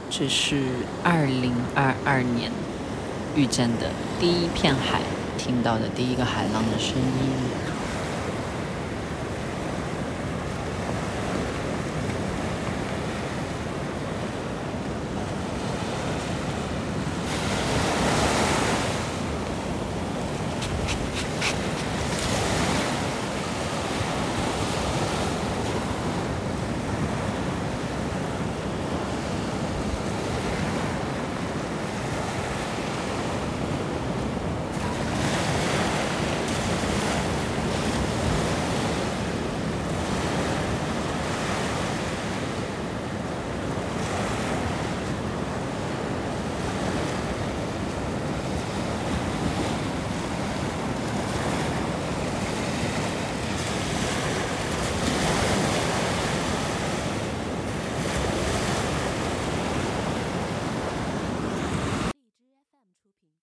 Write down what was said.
这是2022年遇见的第一片海，听到的第一个海浪的声音。